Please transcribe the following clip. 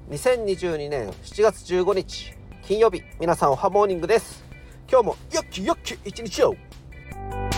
2022年7月15日金曜日、皆さんおはモーニングです。今日もよっきよっき一日を。